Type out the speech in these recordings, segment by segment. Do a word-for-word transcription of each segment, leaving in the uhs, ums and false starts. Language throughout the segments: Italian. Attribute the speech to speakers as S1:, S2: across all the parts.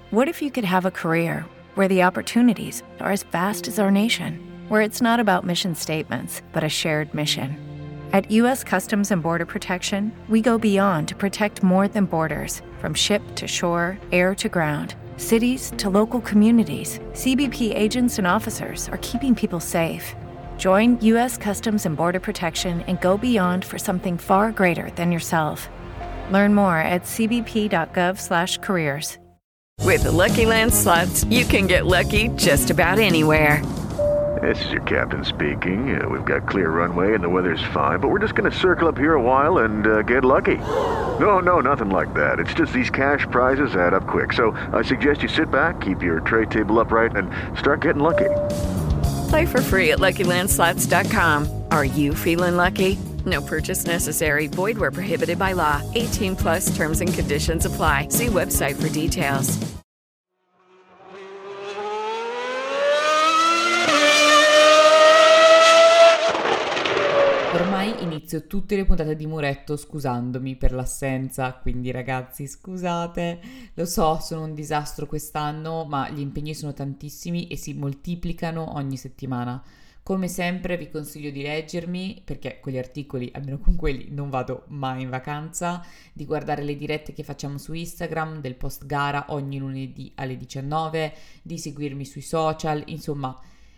S1: What if you could have a career where the opportunities are as vast as our nation, where it's not about mission statements, but a shared mission? At U S Customs and Border Protection, we go beyond to protect more than borders. From ship to shore, air to ground, cities to local communities, C B P agents and officers are keeping people safe. Join U S Customs and Border Protection and go beyond for something far greater than yourself. Learn more at c b p dot gov slash careers.
S2: With the Lucky Land Slots, you can get lucky just about anywhere.
S3: This is your captain speaking. Uh, we've got clear runway and the weather's fine, but we're just going to circle up here a while and uh, get lucky. No, no, nothing like that. It's just these cash prizes add up quick. So I suggest you sit back, keep your tray table upright, and start getting lucky.
S2: Play for free at lucky land slots dot com. Are you feeling lucky? No purchase necessary. Void where prohibited by law. eighteen plus terms and conditions apply. See website for details.
S4: Ormai inizio tutte le puntate di Muretto scusandomi per l'assenza, quindi ragazzi scusate, lo so, sono un disastro quest'anno, ma gli impegni sono tantissimi e si moltiplicano ogni settimana. Come sempre vi consiglio di leggermi, perché con gli articoli, almeno con quelli, non vado mai in vacanza, di guardare le dirette che facciamo su Instagram, del post gara ogni lunedì alle diciannove, di seguirmi sui social, insomma...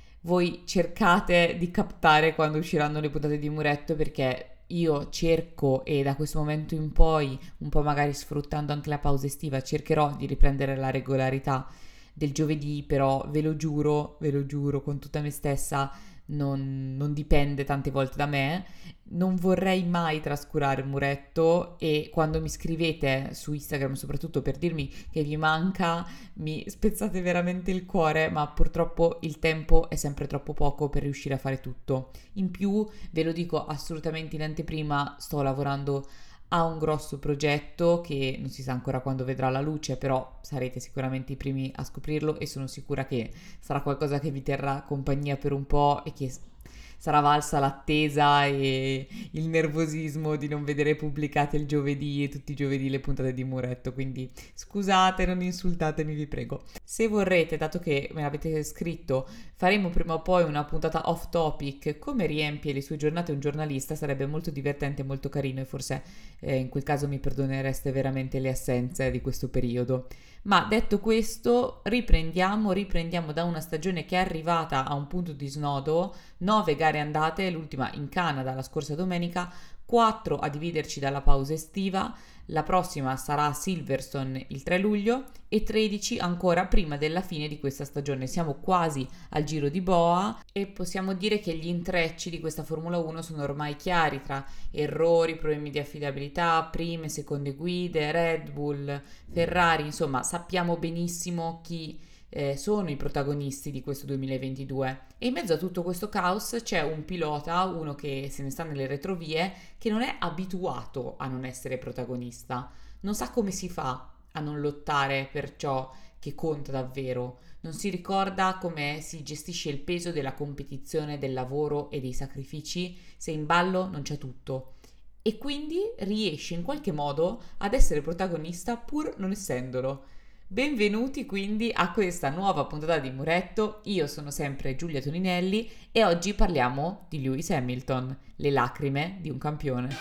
S4: Voi cercate di captare quando usciranno le puntate di Muretto, perché io cerco, e da questo momento in poi, un po' magari sfruttando anche la pausa estiva, cercherò di riprendere la regolarità del giovedì, però ve lo giuro, ve lo giuro con tutta me stessa, non, non dipende tante volte da me. Non vorrei mai trascurare Muretto, e quando mi scrivete su Instagram soprattutto per dirmi che vi manca, mi spezzate veramente il cuore, ma purtroppo il tempo è sempre troppo poco per riuscire a fare tutto. In più, ve lo dico assolutamente in anteprima, sto lavorando a un grosso progetto che non si sa ancora quando vedrà la luce, però sarete sicuramente i primi a scoprirlo, e sono sicura che sarà qualcosa che vi terrà compagnia per un po' e che sarà valsa l'attesa e il nervosismo di non vedere pubblicate il giovedì e tutti i giovedì le puntate di Muretto, quindi scusate, non insultatemi, vi prego. Se vorrete, dato che me l'avete scritto, faremo prima o poi una puntata off topic, come riempie le sue giornate un giornalista, sarebbe molto divertente e molto carino, e forse eh, in quel caso mi perdonereste veramente le assenze di questo periodo. Ma detto questo, riprendiamo, riprendiamo da una stagione che è arrivata a un punto di snodo, nove gare andate, l'ultima in Canada la scorsa domenica, quattro a dividerci dalla pausa estiva, la prossima sarà a Silverstone il tre luglio e tredici ancora prima della fine di questa stagione. Siamo quasi al Giro di Boa e possiamo dire che gli intrecci di questa Formula uno sono ormai chiari, tra errori, problemi di affidabilità, prime, seconde guide, Red Bull, Ferrari, insomma sappiamo benissimo chi eh, sono i protagonisti di questo duemilaventidue. E in mezzo a tutto questo caos c'è un pilota, uno che se ne sta nelle retrovie, che non è abituato a non essere protagonista, non sa come si fa a non lottare per ciò che conta davvero, non si ricorda come si gestisce il peso della competizione, del lavoro e dei sacrifici se in ballo non c'è tutto, e quindi riesce in qualche modo ad essere protagonista pur non essendolo. Benvenuti quindi a questa nuova puntata di Muretto. Io sono sempre Giulia Toninelli e oggi parliamo di Lewis Hamilton, le lacrime di un campione.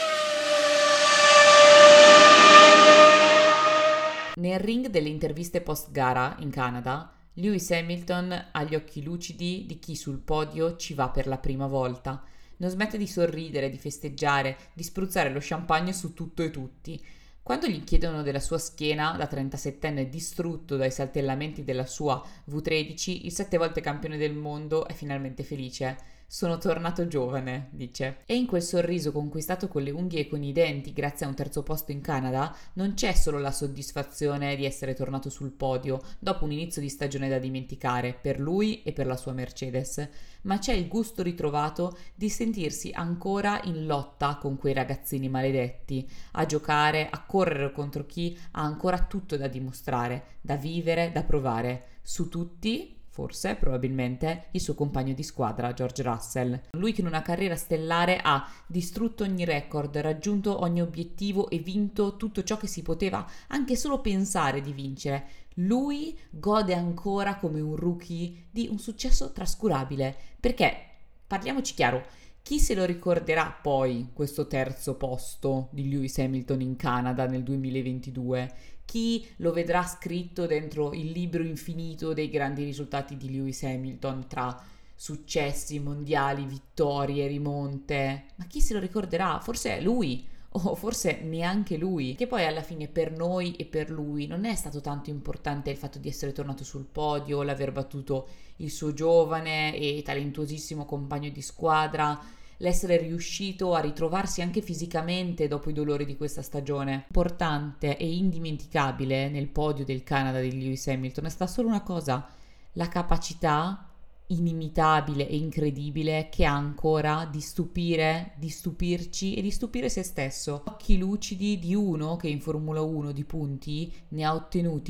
S4: Nel ring delle interviste post gara in Canada, Lewis Hamilton ha gli occhi lucidi di chi sul podio ci va per la prima volta. Non smette di sorridere, di festeggiare, di spruzzare lo champagne su tutto e tutti. Quando gli chiedono della sua schiena, da trentasettenne distrutto dai saltellamenti della sua vu tredici, il sette volte campione del mondo è finalmente felice. Sono tornato giovane, dice. E in quel sorriso conquistato con le unghie e con i denti grazie a un terzo posto in Canada, non c'è solo la soddisfazione di essere tornato sul podio dopo un inizio di stagione da dimenticare per lui e per la sua Mercedes, ma c'è il gusto ritrovato di sentirsi ancora in lotta con quei ragazzini maledetti, a giocare, a correre contro chi ha ancora tutto da dimostrare, da vivere, da provare. Su tutti, Forse, probabilmente, il suo compagno di squadra, George Russell. Lui che in una carriera stellare ha distrutto ogni record, raggiunto ogni obiettivo e vinto tutto ciò che si poteva anche solo pensare di vincere. Lui gode ancora come un rookie di un successo trascurabile. Perché, parliamoci chiaro, chi se lo ricorderà poi questo terzo posto di Lewis Hamilton in Canada nel duemilaventidue? Chi lo vedrà scritto dentro il libro infinito dei grandi risultati di Lewis Hamilton tra successi mondiali, vittorie, rimonte? Ma chi se lo ricorderà? Forse è lui, o forse neanche lui, che poi alla fine per noi e per lui non è stato tanto importante il fatto di essere tornato sul podio, l'aver battuto il suo giovane e talentuosissimo compagno di squadra, l'essere riuscito a ritrovarsi anche fisicamente dopo i dolori di questa stagione. Importante e indimenticabile nel podio del Canada di Lewis Hamilton è stata solo una cosa: la capacità inimitabile e incredibile che ha ancora di stupire, di stupirci e di stupire se stesso. Occhi lucidi di uno che in Formula uno di punti ne ha ottenuti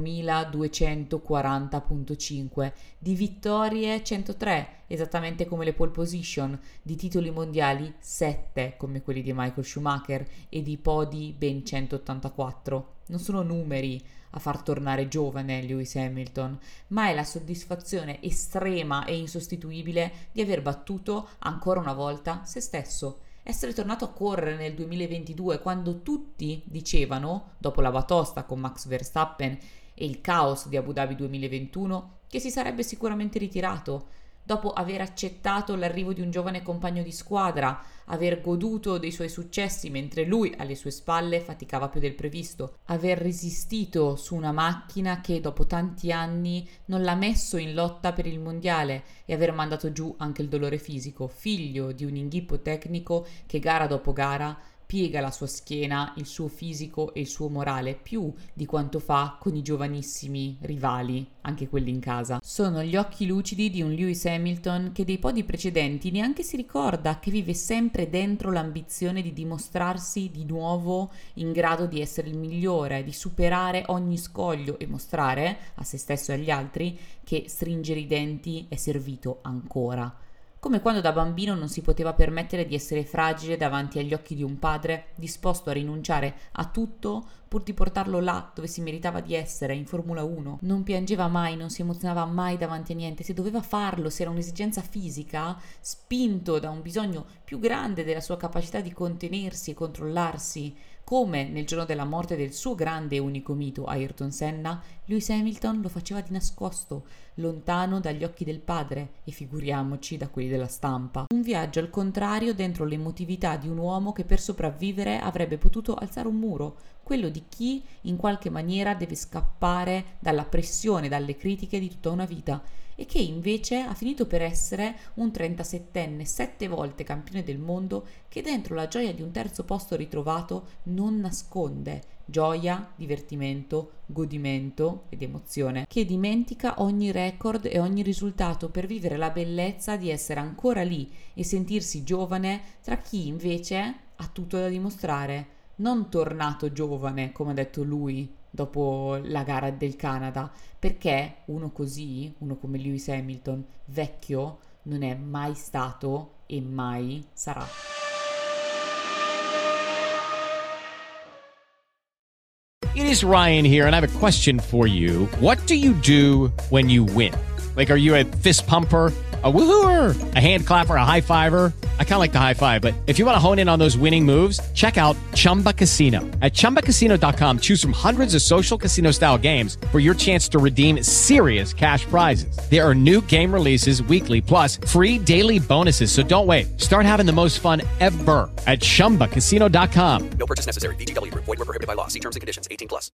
S4: quattromiladuecentoquaranta virgola cinque, di vittorie centotré, esattamente come le pole position, di titoli mondiali sette come quelli di Michael Schumacher e di podi ben centottantaquattro. Non sono numeri a far tornare giovane Lewis Hamilton, ma è la soddisfazione estrema e insostituibile di aver battuto ancora una volta se stesso. Essere tornato a correre nel duemilaventidue quando tutti dicevano, dopo la batosta con Max Verstappen e il caos di Abu Dhabi duemilaventuno, che si sarebbe sicuramente ritirato, dopo aver accettato l'arrivo di un giovane compagno di squadra, aver goduto dei suoi successi mentre lui alle sue spalle faticava più del previsto, aver resistito su una macchina che dopo tanti anni non l'ha messo in lotta per il mondiale e aver mandato giù anche il dolore fisico, figlio di un inghippo tecnico che gara dopo gara piega la sua schiena, il suo fisico e il suo morale più di quanto fa con i giovanissimi rivali, anche quelli in casa. Sono gli occhi lucidi di un Lewis Hamilton che dei podi precedenti neanche si ricorda, che vive sempre dentro l'ambizione di dimostrarsi di nuovo in grado di essere il migliore, di superare ogni scoglio e mostrare a se stesso e agli altri che stringere i denti è servito ancora. Come quando da bambino non si poteva permettere di essere fragile davanti agli occhi di un padre disposto a rinunciare a tutto pur di portarlo là dove si meritava di essere, in Formula uno. Non piangeva mai, non si emozionava mai davanti a niente, se doveva farlo, se era un'esigenza fisica, spinto da un bisogno più grande della sua capacità di contenersi e controllarsi. Come nel giorno della morte del suo grande e unico mito Ayrton Senna, Lewis Hamilton lo faceva di nascosto, lontano dagli occhi del padre e figuriamoci da quelli della stampa. Un viaggio al contrario dentro l'emotività di un uomo che per sopravvivere avrebbe potuto alzare un muro, quello di chi in qualche maniera deve scappare dalla pressione, dalle critiche di tutta una vita, e che invece ha finito per essere un trentasettenne, sette volte campione del mondo, che dentro la gioia di un terzo posto ritrovato non nasconde gioia, divertimento, godimento ed emozione, che dimentica ogni record e ogni risultato per vivere la bellezza di essere ancora lì e sentirsi giovane tra chi invece ha tutto da dimostrare, non tornato giovane come ha detto lui dopo la gara del Canada, perché uno così, uno come Lewis Hamilton, vecchio, non è mai stato e mai sarà.
S5: It is Ryan here, and I have a question for you. What do you do when you win? Like, are you a fist pumper, a woohooer, a hand clapper, a high fiver? I kind of like the high five, but if you want to hone in on those winning moves, check out Chumba Casino. At chumba casino dot com, choose from hundreds of social casino style games for your chance to redeem serious cash prizes. There are new game releases weekly, plus free daily bonuses. So don't wait. Start having the most fun ever at chumba casino dot com.
S6: No purchase necessary. V G W Group. Void where prohibited by law. See terms and conditions. eighteen plus.